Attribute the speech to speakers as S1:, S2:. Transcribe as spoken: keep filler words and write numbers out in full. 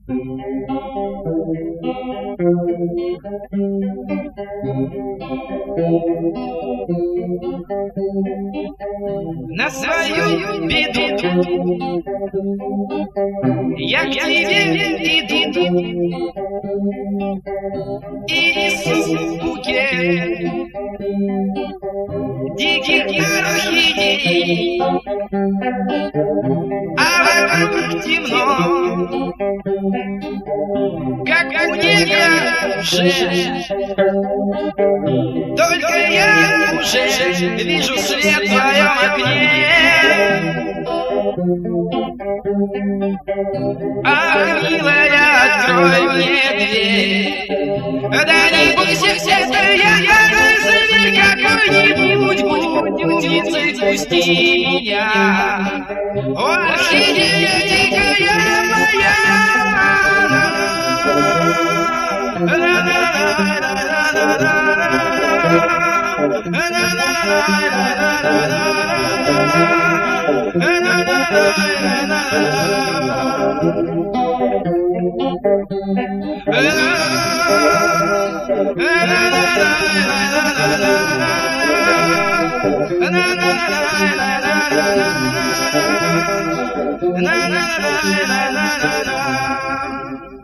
S1: На свою беду я к тебе иду и несу букет диких орхидей, а вокруг темно, как у нега. Только я уже вижу свет в твоем окне. Ах, милая, открой мне дверь. Да не бойся, это я, какой-нибудь будь птицей, пусти меня. О, орхидея дикая моя. Na na na na na na na.